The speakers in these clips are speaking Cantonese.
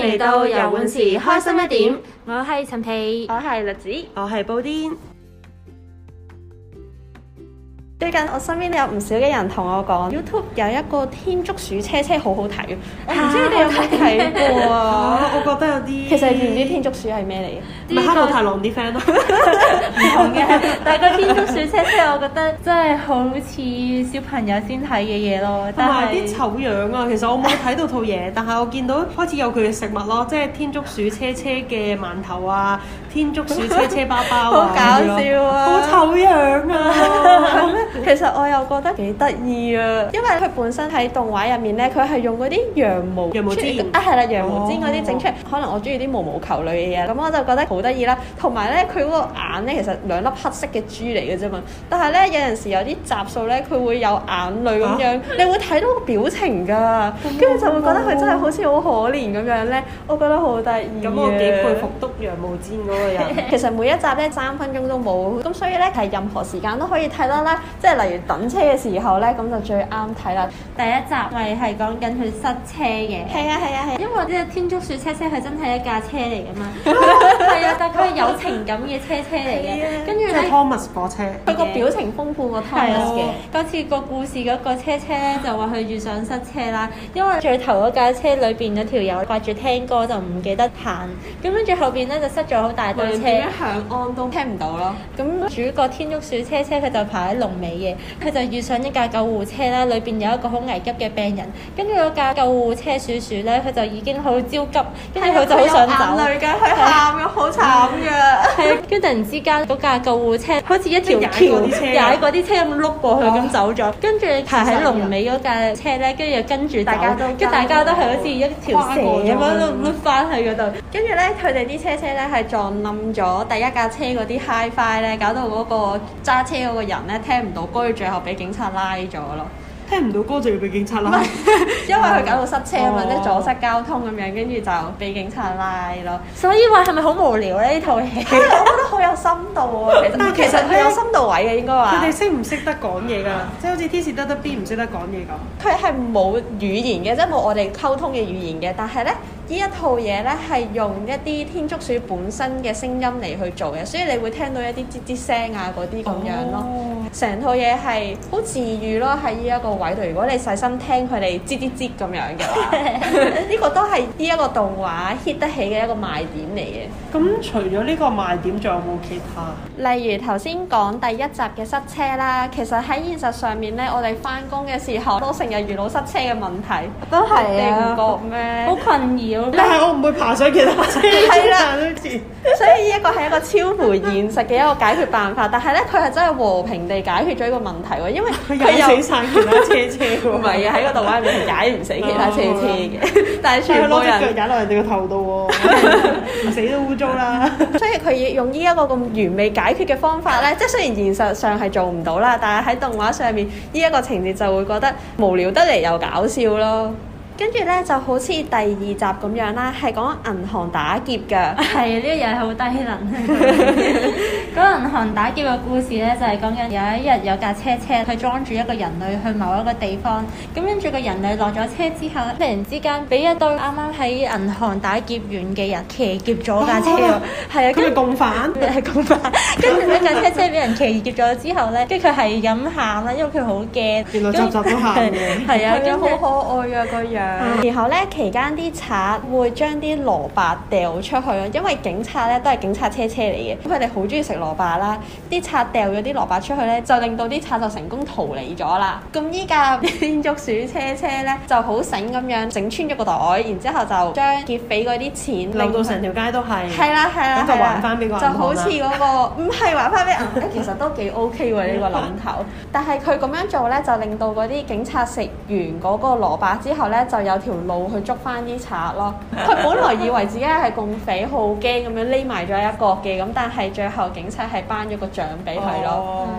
嚟到遊玩時開心一點，我係陳皮， 我係栗子， 我係布甸。 最近我身邊有唔少嘅人同我講 YouTube 有一個天竺鼠車車好好睇嘅，我唔知你哋有冇睇過啊？ 我覺得有啲， 其實你知唔知天竺鼠係咩嚟嘅？ 咪哈姆太郎啲 friend 咯， 唔同嘅。但係個天竺鼠車車，我覺得真係好似小朋友先睇嘅嘢咯。 同埋啲醜樣啊！其實我冇睇到套嘢，但係我見到開始有佢嘅食物咯，即係天竺鼠車車嘅饅頭啊，天竺鼠車車包包啊， 好搞笑啊！ 好醜樣啊！ 其實我又覺得幾得意啊，因為佢本身喺動畫入面咧，佢係用嗰啲羊毛氈啊，係啦，羊毛氈嗰啲整出嚟。可能我中意啲毛毛球類嘅嘢，咁我就覺得好得意啦。同埋咧，佢嗰個眼咧，其實兩粒黑色嘅珠嚟嘅啫嘛。但係咧，有陣時有啲集數咧，佢會有眼淚咁樣，你會睇到個表情㗎，跟住就會覺得佢真係好似好可憐咁樣咧。我覺得好得意。 咁我幾佩服篤羊毛氈嗰個人。 其實每一集咧3分鐘都冇，咁所以咧係任何時間都可以睇得啦。即係例如等車嘅時候咧，咁就最啱睇啦。 第一集咪係講緊佢塞車嘅。 係啊係啊係。 因為呢個天竺鼠車車係真係一架車嚟㗎嘛。係啊，但係佢係有情感嘅車車嚟嘅。跟住咧， 即係 Thomas 火車。 佢個表情豐富過 Thomas 嘅。 嗰次個故事嗰個車車咧就話佢遇上塞車啦，因為最頭嗰架車裏邊有條友掛住聽歌就唔記得行，咁跟住後邊咧就塞咗好大堆車， 點樣響安都聽唔到咯。 咁主角天竺鼠車車佢就排喺龍尾嘅，佢就遇上一架救護車啦，裏邊有一個好危急嘅病人，跟住嗰架救護車鼠鼠咧，佢就已經好焦急，跟住佢就好想走， 眼淚㗎，佢喊咗好慘㗎。 係，跟住突然之間嗰架救護車好似一條橋踩過啲車咁碌過去咁走咗，跟住排喺龍尾嗰架車咧，跟住又跟住大家都，跟住大家都係好似一條蛇咁樣碌翻去嗰度， 跟住咧佢哋啲車車咧係撞冧咗第一架車嗰啲 Hi-Fi 咧，搞到嗰個揸車嗰個人咧聽唔到歌，最後俾警察拉咗咯。 聽唔到歌就要俾警察拉， 因為佢搞到塞車啊嘛，即係阻塞交通咁樣，跟住就俾警察拉咯。 所以話係咪好無聊咧呢套戲？ 我覺得好有深度啊！其實佢有深度位嘅應該話。 佢哋識唔識得講嘢㗎？即係好似天使得得 B 唔識得講嘢咁。 佢係冇語言嘅，即係冇我哋溝通嘅語言嘅，但係咧。呢一套嘢咧係用一啲天竺鼠本身嘅聲音嚟去做嘅，所以你會聽到一啲吱吱聲啊嗰啲咁樣咯。成套嘢係好治癒咯，喺呢一個位度。如果你細心聽佢哋吱吱吱咁樣嘅話，呢個都係呢一個動畫 hit 得起嘅一個賣點嚟嘅。 咁除咗呢個賣點，仲有冇其他？ 例如頭先講第一集嘅塞車啦，其實喺現實上面咧，我哋翻工嘅時候都成日遇到塞車嘅問題， 都係啊， 你唔覺咩？ 好困擾。 但係我唔會爬上其他車， 係啦，所以呢一個係一個超乎現實嘅一個解決辦法。但係咧，佢係真係和平地解決咗呢個問題喎，因為佢有死晒其他車喎。 唔係啊，喺個動畫入面係解唔死其他車嘅，但係全部人攞隻腳踩落人哋個頭度喎，死都污糟啦。 所以佢要用呢一個咁完美解決嘅方法咧，即係雖然現實上係做唔到啦，但係喺動畫上面呢一個情節就會覺得無聊得嚟又搞笑咯。跟住咧就好似第二集咁樣啦，係講銀行打劫㗎。 係呢個又係好低能。嗰個銀行打劫嘅故事咧，就係講緊有一日有架車佢裝住一個人類去某一個地方，咁跟住個人類落咗車之後咧，突然之間俾一對啱啱喺銀行打劫完嘅人騎劫咗架車喎。係啊， 佢係共犯。 係共犯。跟住呢架車俾人騎劫咗之後咧，跟住佢係咁喊啦，因為佢好驚。 原來集集都喊嘅。 係啊，跟住好可愛啊個樣。然後咧期間啲賊會將啲蘿蔔掉出去咯，因為警察咧都係警察車嚟嘅，咁佢哋好中意食蘿蔔啦。啲賊掉咗啲蘿蔔出去咧，就令到啲賊就成功逃離咗啦。咁依架天竺鼠車咧就好醒咁樣整穿咗個袋，然之後就將劫匪嗰啲錢令到成條街都係。 係啦，咁就還翻俾個銀行啦。 就好似嗰個唔係還翻俾銀行，其實都幾 OK 喎呢個諗頭。但係佢咁樣做咧，就令到嗰啲警察食完嗰個蘿蔔之後咧，就有條路去捉翻啲賊咯。佢本來以為自己係共匪，好驚咁樣匿埋咗一角嘅，咁但係最後警察係頒咗個獎俾佢咯。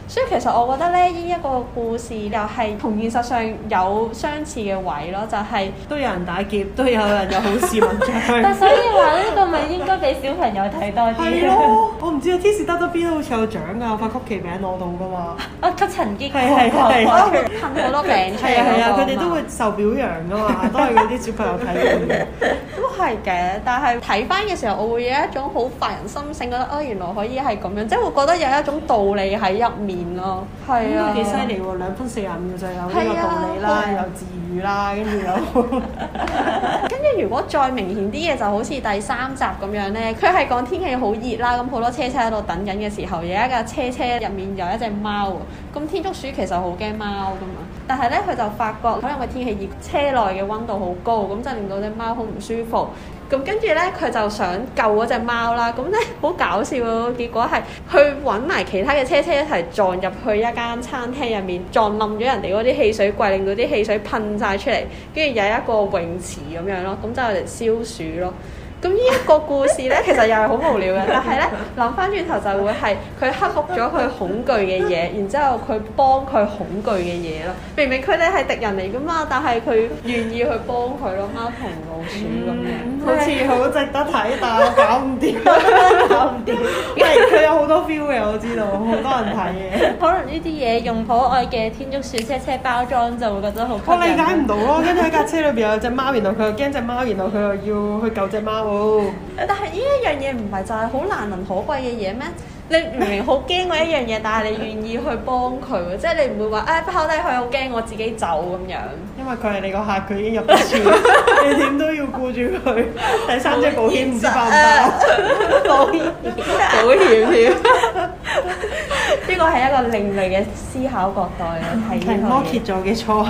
所以其實我覺得咧，呢一個故事又係同現實上有相似嘅位咯，就係都有人打劫，都有人有好事文章。 但所以話呢個咪應該俾小朋友睇多啲。 係咯，我唔知啊，天使得邊好似有獎㗎，發曲奇餅攞到㗎嘛。 吸塵機係噴好多餅出嚟。 係啊，佢哋都會受表揚㗎嘛，都係嗰啲小朋友睇嘅。 都係嘅，但係睇翻嘅時候，我會有一種好發人心醒，覺得原來可以係咁樣，即係會覺得有一種道理喺入面咯。係啊， 幾犀利喎！2分45秒就有呢個道理啦，有治癒啦，跟住有。 跟住如果再明顯啲嘅，就好似第3集咁樣咧，佢係講天氣好熱啦，咁好多車喺度等緊嘅時候，有一架車入面有一隻貓喎。咁天竺鼠其實好驚貓噶嘛，但係咧佢就發覺可能個天氣熱，車內嘅溫度好高，咁就令到隻貓好唔舒服。咁跟住咧，佢就想救嗰隻貓啦。咁咧好搞笑喎，結果係去揾埋其他嘅車一齊撞入去一間餐廳入面，撞冧咗人哋嗰啲汽水櫃，令到啲汽水噴晒出嚟，跟住有一個泳池咁樣咯。咁就嚟消暑咯。咁呢一個故事咧，其實又係好無聊嘅，但係咧諗翻轉頭就會係佢克服咗佢恐懼嘅嘢，然之後佢幫佢恐懼嘅嘢咯。明明佢哋係敵人嚟噶嘛，但係佢願意去幫佢咯，貓同老鼠咁樣。 好似好值得睇，但係我搞唔掂，搞唔掂。因為佢有好多 feel 嘅，我知道，好多人睇嘅。 可能呢啲嘢用可愛嘅天竺鼠車包裝就會覺得好吸引。 我理解唔到咯，跟住喺架車裏邊有隻貓，然後佢又驚隻貓，然後佢又要去救隻貓。 但係呢一樣嘢唔係就係好難能可貴嘅嘢咩？你明明好驚嗰一樣嘢，但係你願意去幫佢喎，即係你唔會話拋低佢好驚，我自己走咁樣。因為佢係你個客，佢已經入咗船，你點都要顧住佢。第3隻保險唔知包唔包？保險添。呢個係一個另類嘅思考角度嚟睇。係摩羯座嘅錯。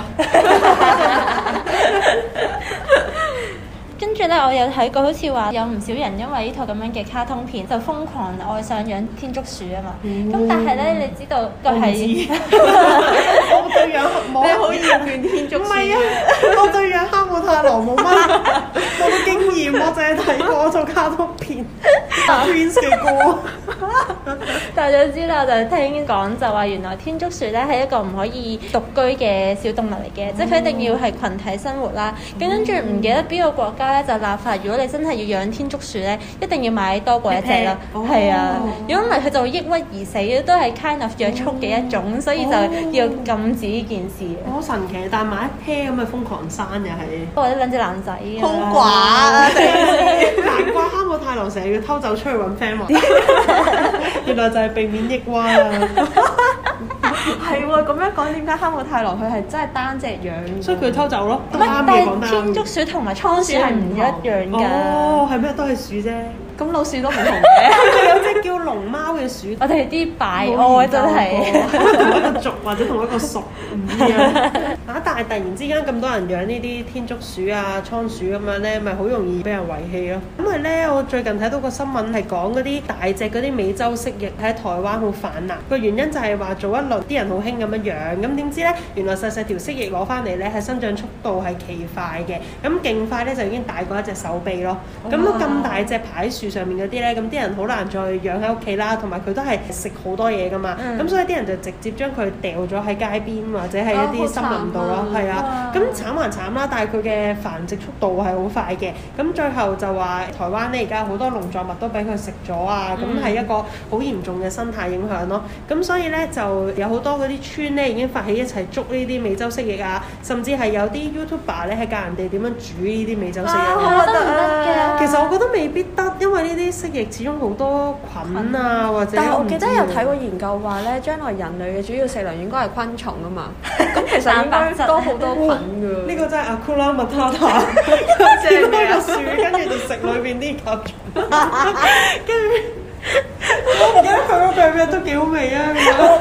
跟住咧，我有睇過，好似話有唔少人因為呢套咁樣嘅卡通片，就瘋狂愛上養天竺鼠啊嘛。咁但係咧，你知道個係我對養冇你好厭倦天竺鼠。唔係啊，我對養哈姆太郎冇乜經驗，我淨係睇過套卡通片 Twins 嘅歌。 但係總之啦，就聽講就話原來天竺鼠咧係一個唔可以獨居嘅小動物嚟嘅，即係佢一定要係群體生活啦。咁跟住唔記得邊個國家咧就立法，如果你真係要養天竺鼠咧，一定要買多過一隻咯。係啊，如果唔係佢就會抑鬱而死，都係 kind of 約束嘅一種，所以就要禁止呢件事。 好神奇，但係買一 pair 咁嘅瘋狂生又係， 或者兩隻男仔好寡啊！ 難怪哈姆太郎成日要偷走出去揾 friend 玩，原來就係避免抑鬱啊！ 係喎，咁樣講點解哈姆太郎佢係真係單隻養？ 所以佢偷走咯。 但係天竺鼠同埋倉鼠係唔一樣㗎。 哦，係咩？都係鼠啫。咁老鼠都唔同嘅。 有隻叫龍貓嘅鼠。 我哋啲擺愛真係同一個族或者同一個屬唔一樣。但係突然之間咁多人養呢啲天竺鼠啊、倉鼠咁樣咧，咪好容易俾人遺棄咯。因為咧，我最近睇到個新聞係講嗰啲大隻嗰啲美洲蜥蜴喺台灣好泛濫，個原因就係話早一輪啲人好興咁樣養，咁點知咧原來細細條蜥蜴攞翻嚟咧係生長速度係奇快嘅，咁勁快咧就已經大過一隻手臂咯。咁都咁大隻排喺樹上面嗰啲咧，咁啲人好難再養喺屋企啦，同埋佢都係食好多嘢噶嘛，咁所以啲人就直接將佢掉咗喺街邊或者係一啲森林度咯，係啊，咁慘還慘啦，但係佢嘅繁殖速度係好快嘅，咁最後就話台灣咧而家好多農作物都俾佢食咗啊，咁係一個好嚴重嘅生態影響咯，咁所以咧就有好多嗰啲村咧已經發起一齊捉呢啲美洲蜥蜴啊，甚至係有啲 YouTuber 咧係教人哋點樣煮呢啲美洲蜥蜴。 我覺得唔得嘅。 其實我覺得未必得，因為呢啲蜥蜴始終好多菌啊，或者。 但係我記得有睇過研究話咧，將來人類嘅主要食糧應該係昆蟲啊嘛。咁其實應該多好多菌㗎。呢個真係Hakuna Matata，見到個樹，跟住就食裏邊啲甲蟲，跟住我唔記得佢個病名都幾好味啊！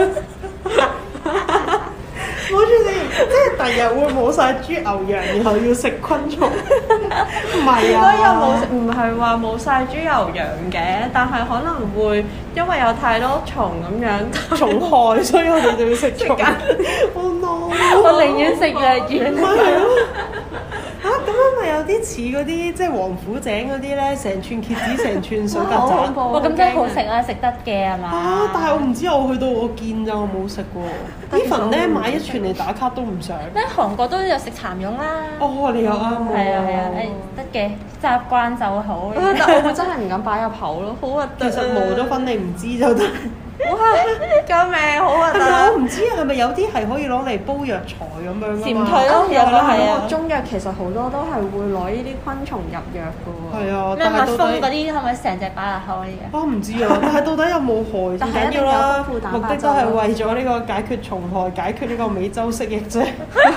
冇住先，即係第日會冇晒豬牛羊，然後要食昆蟲。唔係啊， 應該又冇，唔係話冇晒豬牛羊嘅，但係可能會因為有太多蟲咁樣蟲害，所以我哋就要食蟲。Oh no！ 我寧願食藥丸。 咁樣咪咪有啲似嗰啲即係王府井嗰啲咧，成串蠍子成串水曱甴。 好恐怖哇！咁真係好食啊，食得嘅係嘛？ 啊！但係我唔知，我去到我見咋，我冇食過。Even 咧買一串嚟打卡都唔想。 咩韓國都有食蠶蛹啦。 哦，你又啱喎。 係啊係啊，得嘅，習慣就好。 但我會真係唔敢擺入口咯，好核突。 其實磨咗粉你唔知就得。 哇！救命，好核突。 我唔知係咪有啲係可以攞嚟煲藥材咁樣㗎嘛？ 潛退咯，有個係啊。 中藥其實好多都係會攞呢啲昆蟲入藥㗎喎。 係啊， 咩蜜蜂嗰啲係咪成隻擺入口呢嘅？ 我唔知啊，但係到底有冇害最緊要啦，目的都係為咗呢個解決蟲害、解決呢個美洲蜥蜴啫。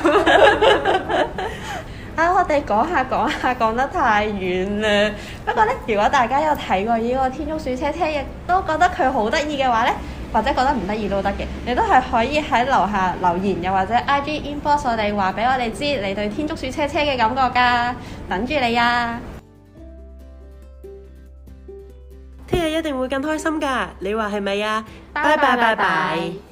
我哋講下講得太遠啦。不過呢，如果大家有睇過呢個天竺鼠車車，亦都覺得佢好得意嘅話呢，或者覺得唔得意都得嘅，你都係可以喺樓下留言，又或者 IG inbox 我哋話俾我哋知你對天竺鼠車車嘅感覺㗎，等住你啊！ 聽日一定會更開心㗎，你話係咪啊？拜拜拜拜。